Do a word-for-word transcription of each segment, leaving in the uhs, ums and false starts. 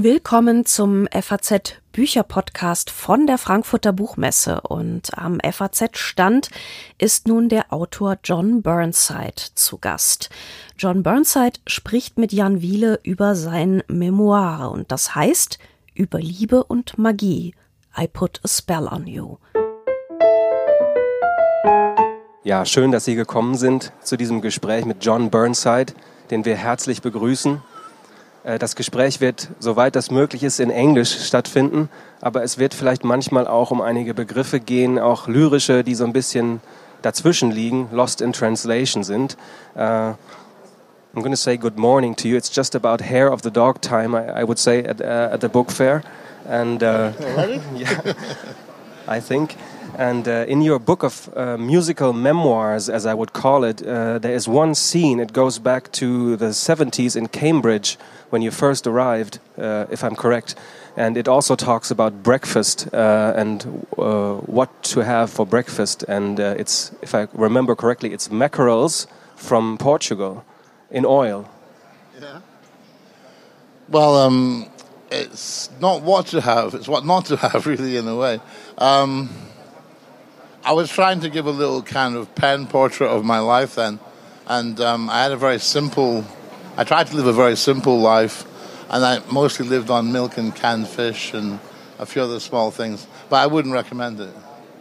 Willkommen zum F A Z Bücherpodcast von der Frankfurter Buchmesse, und am F A Z-Stand ist nun der Autor John Burnside zu Gast. John Burnside spricht mit Jan Wiele über sein Memoir, und das heißt über Liebe und Magie. I put a spell on you. Ja, schön, dass Sie gekommen sind zu diesem Gespräch mit John Burnside, den wir herzlich begrüßen. Das Gespräch wird, soweit das möglich ist, in Englisch stattfinden, aber es wird vielleicht manchmal auch um einige Begriffe gehen, auch lyrische, die so ein bisschen dazwischen liegen, lost in translation sind. Uh, I'm going to say good morning to you. It's just about hair of the dog time, I, I would say, at, uh, at the book fair. And uh, yeah, I think. And uh, in your book of uh, musical memoirs, as I would call it, uh, there is one scene. It goes back to the seventies in Cambridge when you first arrived, uh, if I'm correct. And it also talks about breakfast uh, and uh, what to have for breakfast. And uh, it's, if I remember correctly, it's mackerels from Portugal in oil. Yeah. Well, um, it's not what to have; it's what not to have, really, in a way. Um, I was trying to give a little kind of pen portrait of my life then, and um, I had a very simple, I tried to live a very simple life, and I mostly lived on milk and canned fish and a few other small things, but I wouldn't recommend it.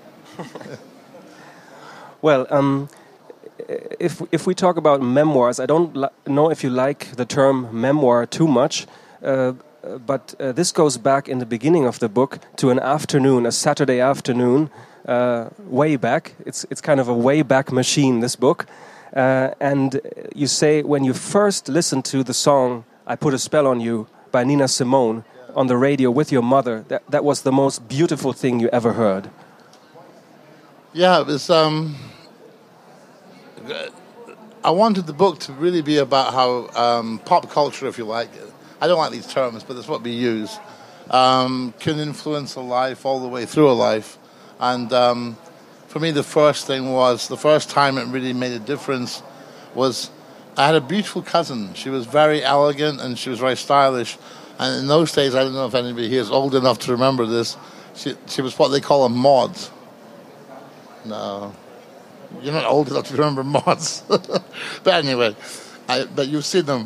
Well, um, if if we talk about memoirs, I don't li- know if you like the term memoir too much, uh, but uh, this goes back in the beginning of the book to an afternoon, a Saturday afternoon, Uh, way back. It's it's kind of a way back machine, this book. Uh, and you say when you first listened to the song I Put a Spell on You by Nina Simone on the radio with your mother, that, that was the most beautiful thing you ever heard. Yeah, it was... Um, I wanted the book to really be about how um, pop culture, if you like, I don't like these terms, but that's what we use, um, can influence a life all the way through a life. And um, for me, the first thing was, the first time it really made a difference was I had a beautiful cousin. She was very elegant and she was very stylish. And in those days, I don't know if anybody here is old enough to remember this, she, she was what they call a mod. No, you're not old enough to remember mods. But anyway, I, but you've seen them.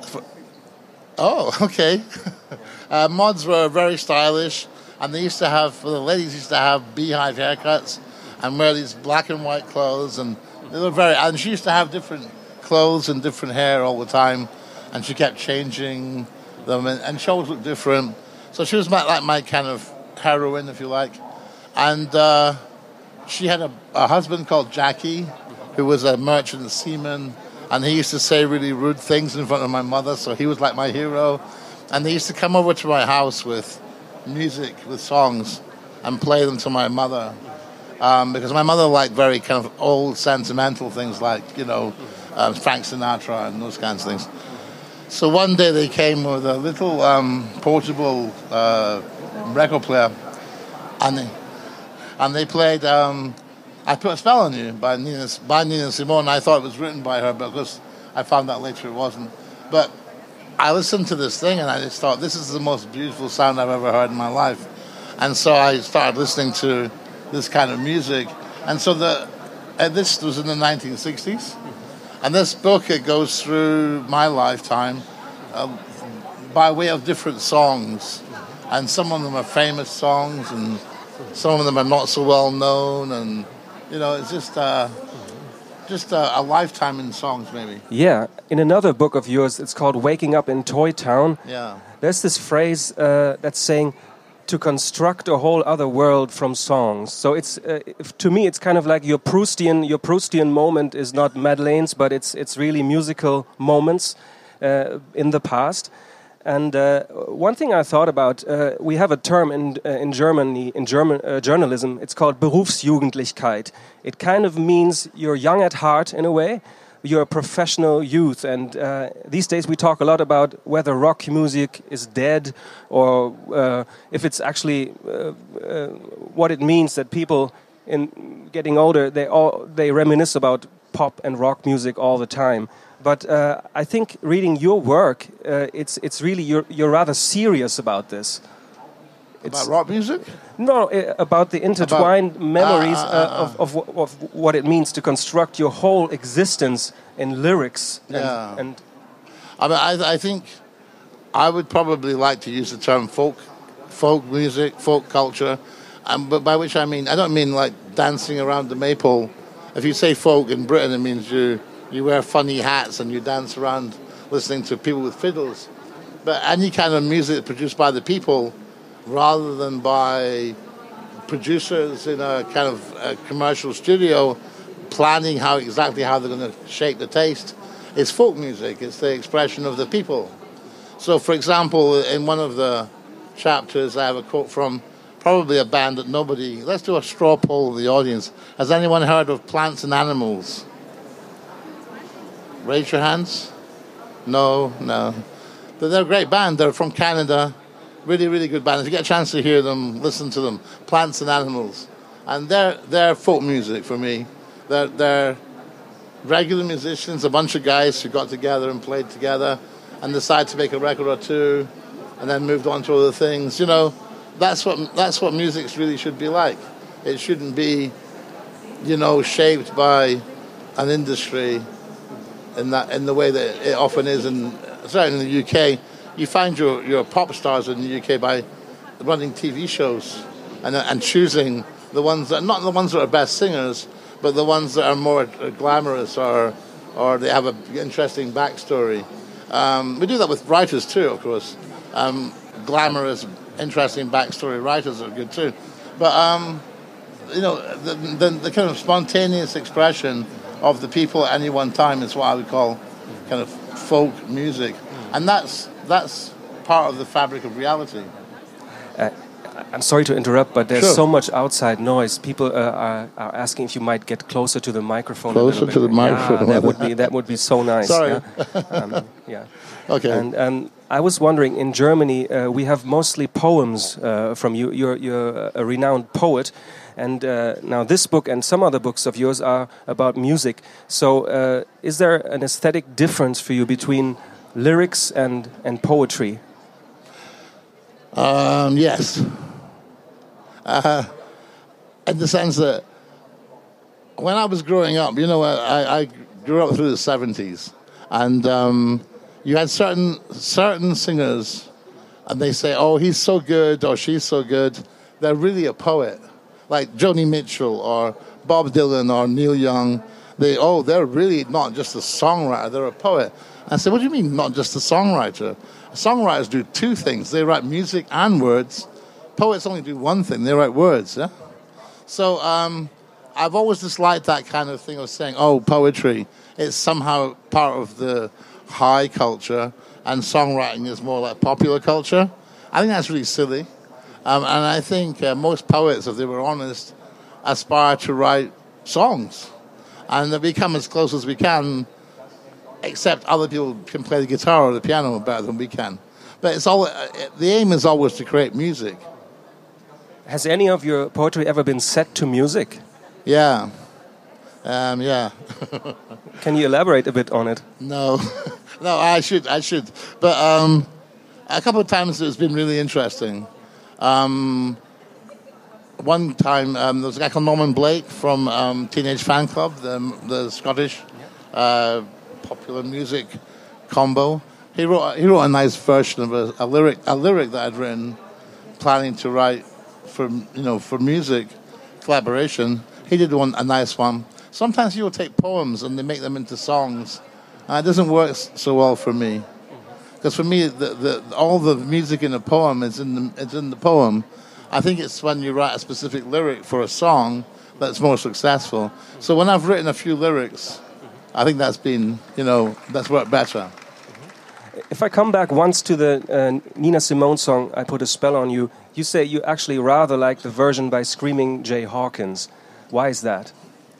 Oh, okay. uh, mods were very stylish. And they used to have, the ladies used to have beehive haircuts and wear these black and white clothes. And they were very, and she used to have different clothes and different hair all the time. And she kept changing them, and, and she always looked different. So she was my, like my kind of heroine, if you like. And uh, she had a, a husband called Jackie, who was a merchant seaman. And he used to say really rude things in front of my mother, so he was like my hero. And they used to come over to my house with music, with songs, and play them to my mother, um, because my mother liked very kind of old sentimental things like, you know, uh, Frank Sinatra and those kinds of things. So one day they came with a little um, portable uh, record player, and they, and they played um, I Put a Spell on You by Nina, by Nina Simone. I thought it was written by her, because I found out later it wasn't. But I listened to this thing and I just thought, this is the most beautiful sound I've ever heard in my life. And so I started listening to this kind of music. And so the uh, this was in the nineteen sixties. And this book, it goes through my lifetime uh, by way of different songs. And some of them are famous songs and some of them are not so well known. And, you know, it's just... Uh, Just a, a lifetime in songs, maybe. Yeah. In another book of yours, it's called Waking Up in Toy Town. Yeah. There's this phrase uh, that's saying to construct a whole other world from songs. So it's uh, if, to me, it's kind of like your Proustian your Proustian moment is not Madeleine's, but it's it's really musical moments uh, in the past. And uh, one thing I thought about, uh, we have a term in uh, in Germany, in German uh, journalism, it's called Berufsjugendlichkeit. It kind of means you're young at heart in a way, you're a professional youth. And uh, these days we talk a lot about whether rock music is dead or uh, if it's actually uh, uh, what it means that people in getting older, they all they reminisce about pop and rock music all the time. But uh, I think reading your work, uh, it's it's really you're you're rather serious about this. It's, about rock music? No, uh, about the intertwined about, memories uh, uh, uh, uh, of, of of what it means to construct your whole existence in lyrics. And, yeah. and I mean, I, I think I would probably like to use the term folk, folk music, folk culture, um, but by which I mean I don't mean like dancing around the maypole. If you say folk in Britain, it means you. You wear funny hats and you dance around listening to people with fiddles. But any kind of music produced by the people rather than by producers in a kind of a commercial studio planning how exactly how they're going to shape the taste is folk music. It's the expression of the people. So, for example, in one of the chapters, I have a quote from probably a band that nobody... Let's do a straw poll of the audience. Has anyone heard of Plants and Animals? Raise your hands. No, no. They're a great band. They're from Canada. Really, really good band. If you get a chance to hear them, listen to them. Plants and Animals. And they're, they're folk music for me. They're, they're regular musicians, a bunch of guys who got together and played together and decided to make a record or two and then moved on to other things. You know, that's what, that's what music really should be like. It shouldn't be, you know, shaped by an industry in that in the way that it often is, and certainly in the U K, you find your, your pop stars in the U K by running T V shows and and choosing the ones that not the ones that are best singers, but the ones that are more glamorous or or they have an interesting backstory. Um, we do that with writers too, of course. Um, glamorous, interesting backstory writers are good too, but um, you know the, the the kind of spontaneous expression of the people at any one time is what I would call kind of folk music. And that's that's part of the fabric of reality. Uh, I'm sorry to interrupt, but there's Sure. so much outside noise. People uh, are, are asking if you might get closer to the microphone. Closer a little to bit. the microphone. Yeah, that would be that would be so nice. Sorry. Yeah. Um, yeah. Okay. And um, I was wondering, in Germany, uh, we have mostly poems uh, from you. You're, you're a renowned poet. And uh, now this book and some other books of yours are about music. So uh, is there an aesthetic difference for you between lyrics and, and poetry? Um, yes. Uh, in the sense that when I was growing up, you know, I, I grew up through the seventies. And um, you had certain certain singers, and they say, oh, he's so good or she's so good. They're really a poet. Like Joni Mitchell or Bob Dylan or Neil Young, they oh, they're really not just a songwriter, they're a poet. I said, what do you mean not just a songwriter? Songwriters do two things. They write music and words. Poets only do one thing, they write words. Yeah? So um, I've always disliked that kind of thing of saying, oh, poetry, it's somehow part of the high culture and songwriting is more like popular culture. I think that's really silly. Um, and I think uh, most poets, if they were honest, aspire to write songs. And they become as close as we can, except other people can play the guitar or the piano better than we can. But it's all, uh, the aim is always to create music. Has any of your poetry ever been set to music? Yeah. Um, yeah. Can you elaborate a bit on it? No. no, I should, I should. But um, a couple of times it's been really interesting. Um, one time, um, there was a guy called Norman Blake from um, Teenage Fan Club, the, the Scottish uh, popular music combo. He wrote he wrote a nice version of a, a lyric a lyric that I'd written, planning to write for you know for music collaboration. He did one a nice one. Sometimes you will take poems and they make them into songs. And it doesn't work so well for me. Because for me, the, the, all the music in a poem is in the, it's in the poem. I think it's when you write a specific lyric for a song that's more successful. So when I've written a few lyrics, I think that's been, you know, that's worked better. If I come back once to the uh, Nina Simone song, I Put a Spell on You, you say you actually rather like the version by Screaming Jay Hawkins. Why is that?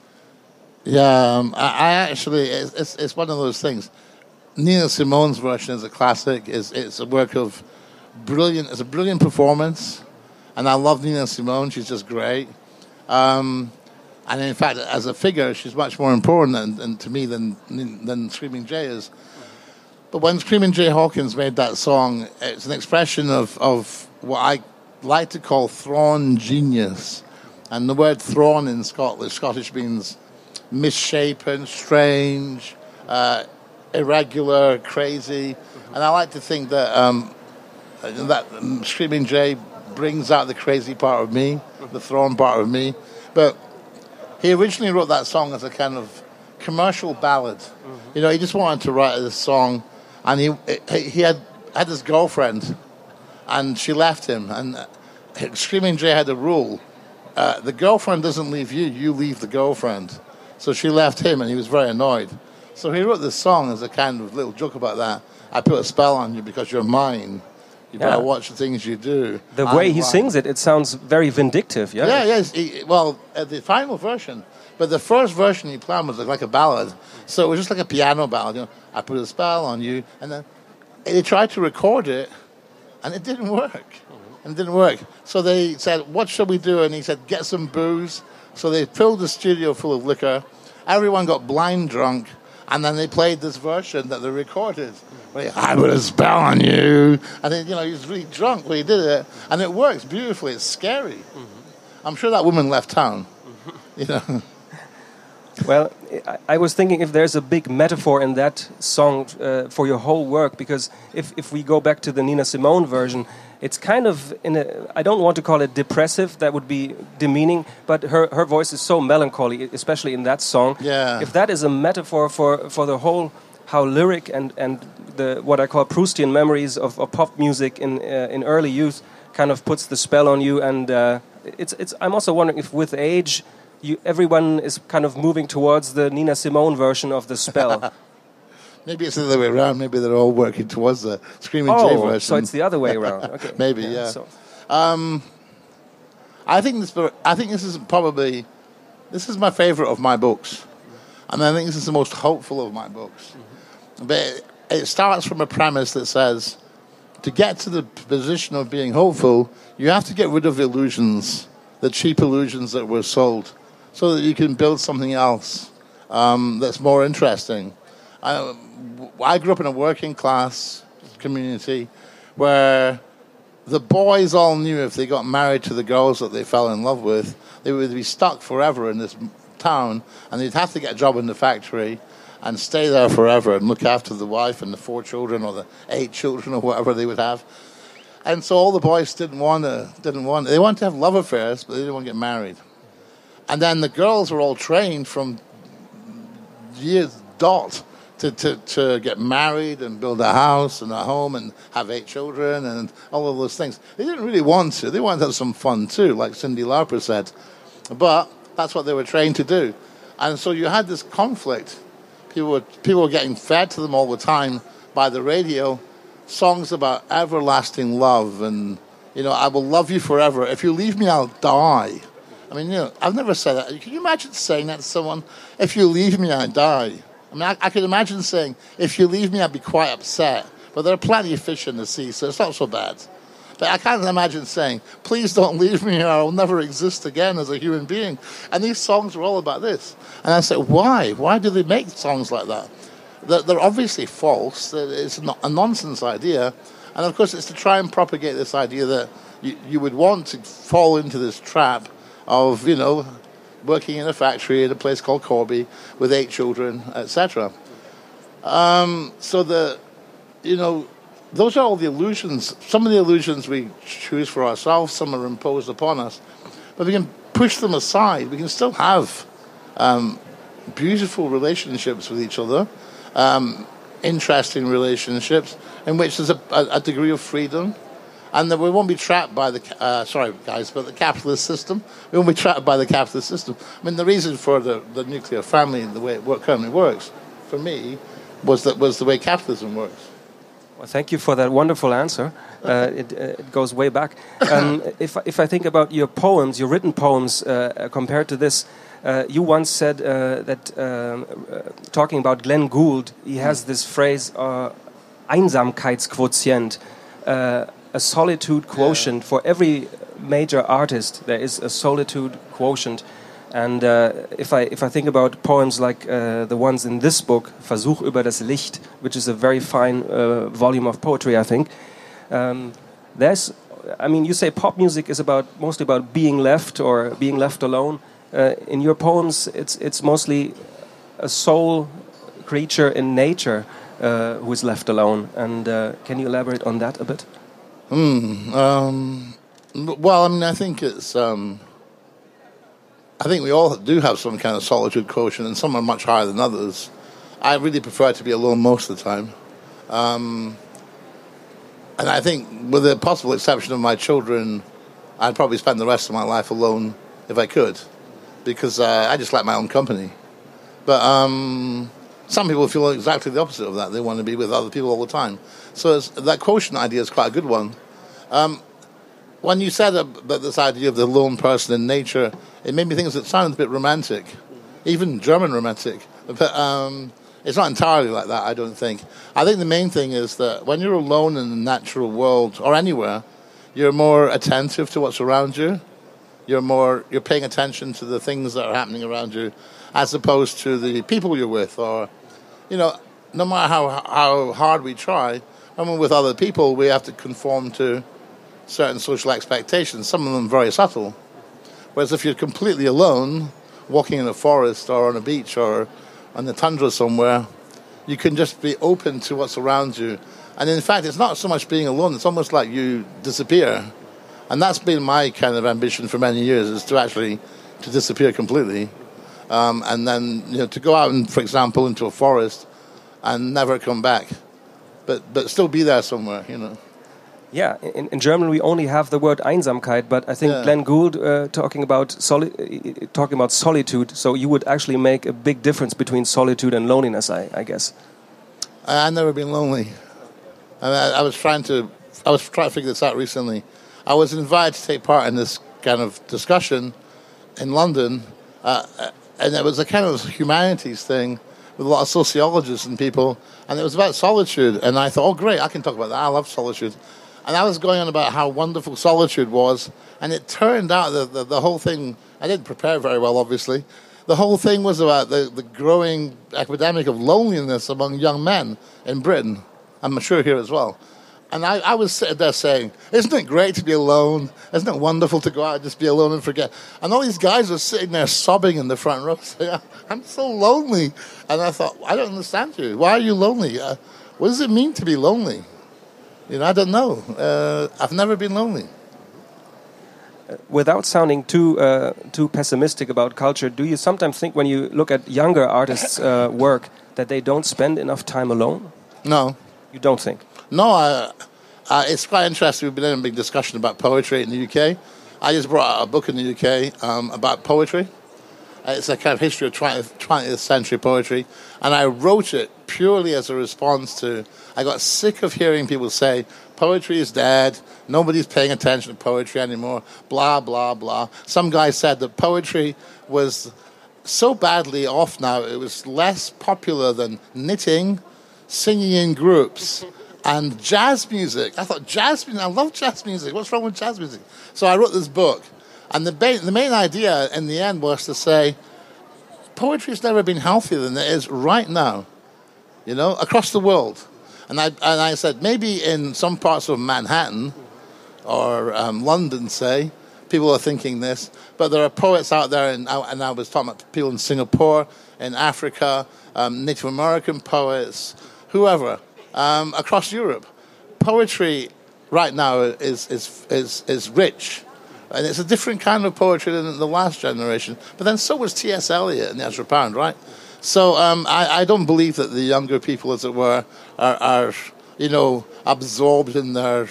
Yeah, um, I, I actually, it's, it's, it's one of those things. Nina Simone's version is a classic. It's, it's a work of brilliant, it's a brilliant performance. And I love Nina Simone. She's just great. Um, And in fact, as a figure, she's much more important than, than, to me than, than Screaming Jay is. But when Screaming Jay Hawkins made that song, it's an expression of, of what I like to call thrawn genius. And the word thrawn in Scottish, Scottish means misshapen, strange, uh, irregular, crazy. And I like to think that um, that Screaming Jay brings out the crazy part of me, the thrawn part of me. But he originally wrote that song as a kind of commercial ballad. Mm-hmm. You know, he just wanted to write this song, and he he had had this girlfriend, and she left him. And Screaming Jay had a rule: uh, the girlfriend doesn't leave you, you leave the girlfriend. So she left him, and he was very annoyed. So he wrote this song as a kind of little joke about that. I put a spell on you because you're mine. You better yeah. watch the things you do. The way I'm he mine. sings it, it sounds very vindictive, yeah? Yeah, yes. He, well, uh, the final version, but the first version he planned was like a ballad. So it was just like a piano ballad. You know, I put a spell on you. And then they tried to record it, and it didn't work. Mm-hmm. And it didn't work. So they said, what shall we do? And he said, get some booze. So they filled the studio full of liquor. Everyone got blind drunk. And then they played this version that they recorded. Where I put a spell on you. And then, you know, he was really drunk when he did it. And it works beautifully. It's scary. Mm-hmm. I'm sure that woman left town. Mm-hmm. You know. Well, I was thinking if there's a big metaphor in that song uh, for your whole work, because if, if we go back to the Nina Simone version, it's kind of, in a, I don't want to call it depressive, that would be demeaning, but her, her voice is so melancholy, especially in that song. Yeah. If that is a metaphor for, for the whole, how lyric and, and the what I call Proustian memories of, of pop music in uh, in early youth kind of puts the spell on you, and uh, it's it's. I'm also wondering if with age, you everyone is kind of moving towards the Nina Simone version of the spell. Maybe it's the other way around. Maybe they're all working towards the Screaming oh, Jay version. So it's the other way around. Okay. Maybe, yeah. yeah. So. Um, I think this. I think this is probably this is my favorite of my books, and I think this is the most hopeful of my books. Mm-hmm. But it, it starts from a premise that says, to get to the position of being hopeful, you have to get rid of illusions, the cheap illusions that were sold, so that you can build something else um, that's more interesting. I, I grew up in a working class community where the boys all knew if they got married to the girls that they fell in love with, they would be stuck forever in this town, and they'd have to get a job in the factory and stay there forever and look after the wife and the four children or the eight children or whatever they would have. And so all the boys didn't want to, didn't want, they wanted to have love affairs, but they didn't want to get married. And then the girls were all trained from years dot to, to, to get married and build a house and a home and have eight children and all of those things. They didn't really want to. They wanted to have some fun too, like Cyndi Lauper said. But that's what they were trained to do. And so you had this conflict. People were, people were getting fed to them all the time by the radio, songs about everlasting love and, you know, I will love you forever. If you leave me, I'll die. I mean, you know, I've never said that. Can you imagine saying that to someone? If you leave me, I die. I mean, I, I could imagine saying, if you leave me, I'd be quite upset. But there are plenty of fish in the sea, so it's not so bad. But I can't imagine saying, please don't leave me or I'll never exist again as a human being. And these songs were all about this. And I said, why? Why do they make songs like that? They're, they're obviously false. It's not a nonsense idea. And, of course, it's to try and propagate this idea that you, you would want to fall into this trap of, you know, working in a factory in a place called Corby with eight children, et cetera. Um, so the, you know, those are all the illusions. Some of the illusions we choose for ourselves, some are imposed upon us. But we can push them aside. We can still have um, beautiful relationships with each other, um, interesting relationships, in which there's a, a, a degree of freedom. And that we won't be trapped by the, uh, sorry guys, but the capitalist system. We won't be trapped by the capitalist system. I mean, the reason for the, the nuclear family, the way it work, currently works, for me, was that was the way capitalism works. Well, thank you for that wonderful answer. Uh, it, uh, it goes way back. Um, if, if I think about your poems, your written poems, uh, compared to this, uh, you once said uh, that, um, uh, talking about Glenn Gould, he has this phrase, uh, Einsamkeitsquotient, uh, a solitude quotient. Yeah. For every major artist, there is a solitude quotient. And uh, if I if I think about poems like uh, the ones in this book, Versuch über das Licht, which is a very fine uh, volume of poetry, I think, um, there's, I mean, you say pop music is about mostly about being left or being left alone. Uh, in your poems, it's it's mostly a soul creature in nature uh, who is left alone. And uh, can you elaborate on that a bit? Mm, um, well, I mean, I think it's. Um I think we all do have some kind of solitude quotient, and some are much higher than others. I really prefer to be alone most of the time. Um, and I think, with the possible exception of my children, I'd probably spend the rest of my life alone if I could, because uh, I just like my own company. But um, some people feel exactly the opposite of that. They want to be with other people all the time. So it's, that quotient idea is quite a good one. Um, When you said about this idea of the lone person in nature, it made me think it sounded a bit romantic, even German romantic. But um, it's not entirely like that, I don't think. I think the main thing is that when you're alone in the natural world or anywhere, you're more attentive to what's around you. You're more you're paying attention to the things that are happening around you, as opposed to the people you're with. Or, you know, no matter how how hard we try, when we're with other people, we have to conform to certain social expectations, some of them very subtle. Whereas if you're completely alone, walking in a forest or on a beach or on the tundra somewhere, you can just be open to what's around you. And in fact, it's not so much being alone, it's almost like you disappear. And that's been my kind of ambition for many years, is to actually to disappear completely. Um, and then, you know, to go out, and, for example, into a forest and never come back. But but still be there somewhere, you know. Yeah, in, in German we only have the word Einsamkeit, but I think yeah. Glenn Gould uh, talking about soli uh, talking about solitude. So you would actually make a big difference between solitude and loneliness, I, I guess. I've never been lonely. I, mean, I, I was trying to I was trying to figure this out recently. I was invited to take part in this kind of discussion in London, uh, and it was a kind of humanities thing with a lot of sociologists and people, and it was about solitude. And I thought, oh great, I can talk about that. I love solitude. And I was going on about how wonderful solitude was, and it turned out that the, the whole thing, I didn't prepare very well, obviously, the whole thing was about the, the growing epidemic of loneliness among young men in Britain. I'm sure here as well. And I, I was sitting there saying, isn't it great to be alone? Isn't it wonderful to go out and just be alone and forget? And all these guys were sitting there sobbing in the front row saying, I'm so lonely. And I thought, I don't understand you. Why are you lonely? Uh, what does it mean to be lonely? You know, I don't know. Uh, I've never been lonely. Without sounding too uh, too pessimistic about culture, do you sometimes think when you look at younger artists' uh, work that they don't spend enough time alone? No. You don't think? No, I, uh, it's quite interesting. We've been in a big discussion about poetry in the U K. I just brought out a book in the U K um, about poetry. It's a kind of history of twentieth century poetry. And I wrote it purely as a response to, I got sick of hearing people say, poetry is dead, nobody's paying attention to poetry anymore, blah, blah, blah. Some guy said that poetry was so badly off now, it was less popular than knitting, singing in groups, and jazz music. I thought, jazz music? I love jazz music. What's wrong with jazz music? So I wrote this book. And the, ba- the main idea in the end was to say, poetry's never been healthier than it is right now, you know, across the world. And I and I said, maybe in some parts of Manhattan or um, London, say, people are thinking this, but there are poets out there, and I, and I was talking about people in Singapore, in Africa, um, Native American poets, whoever, um, across Europe. Poetry right now is is is, is rich. And it's a different kind of poetry than the last generation. But then so was T S Eliot and Ezra Pound, right? So um, I, I don't believe that the younger people, as it were, are, are you know, absorbed in their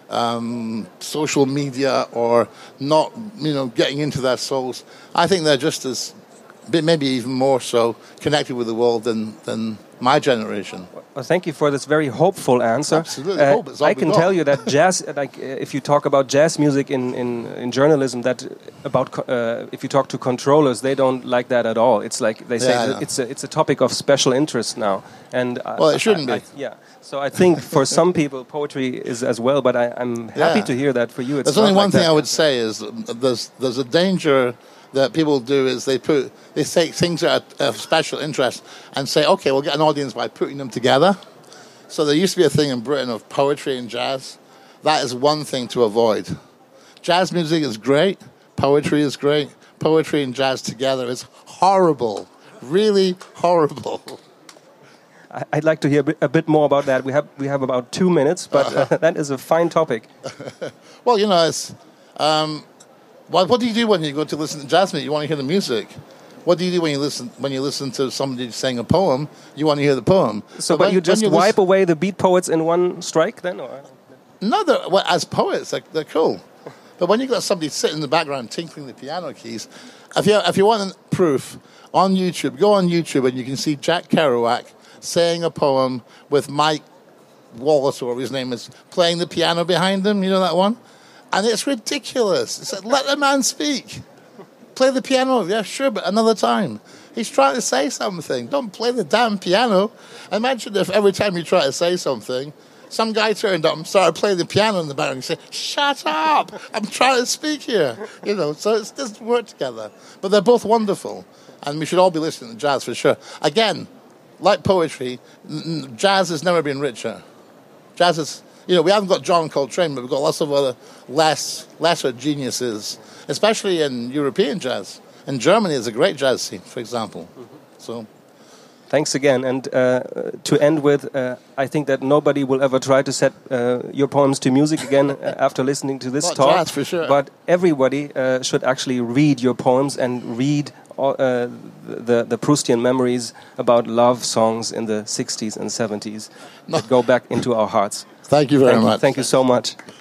um, social media or not, you know, getting into their souls. I think they're just as, maybe even more so, connected with the world than, than my generation. Well, thank you for this very hopeful answer. Absolutely, uh, hope it's all I can tell you that jazz, like uh, if you talk about jazz music in, in, in journalism, that about uh, if you talk to controllers, they don't like that at all. It's like they say yeah, it's a it's a topic of special interest now. And well, it shouldn't I, I, be. I, yeah. So I think for some people, poetry is as well. But I, I'm happy yeah. to hear that for you. It's there's only not one like thing that. I would say is there's there's a danger that people do is they put they take things that are of special interest and say, okay, we'll get an audience by putting them together. So there used to be a thing in Britain of poetry and jazz. That is one thing to avoid. Jazz music is great. Poetry is great. Poetry and jazz together is horrible. Really horrible. I'd like to hear a bit more about that. We have we have about two minutes, but uh, that is a fine topic. Well, you know, it's, um, what, what do you do when you go to listen to jazz music? You want to hear the music. What do you do when you listen when you listen to somebody saying a poem? You want to hear the poem. So, but, but when, you just you wipe listen, away the beat poets in one strike, then? Or? No, well, as poets, like, they're cool. But when you've got somebody sitting in the background tinkling the piano keys, if you if you want proof, on YouTube, go on YouTube and you can see Jack Kerouac saying a poem with Mike Wallace, or whatever his name is, playing the piano behind him. You know that one? And it's ridiculous. It's like, let the man speak. Play the piano. Yeah, sure, but another time. He's trying to say something. Don't play the damn piano. Imagine if every time you try to say something, some guy turned up and started playing the piano in the background and said, shut up, I'm trying to speak here. You know, so it doesn't work together. But they're both wonderful. And we should all be listening to jazz for sure. Again, like poetry, n- jazz has never been richer. Jazz is, you know, we haven't got John Coltrane, but we've got lots of other less, lesser geniuses, especially in European jazz. In Germany, there's a great jazz scene, for example. Mm-hmm. So, thanks again. And uh, to end with, uh, I think that nobody will ever try to set uh, your poems to music again after listening to this Not talk. Jazz, for sure. But everybody uh, should actually read your poems and read all, uh, the, the Proustian memories about love songs in the sixties and seventies no. that go back into our hearts. Thank you very thank much. You, thank you so much.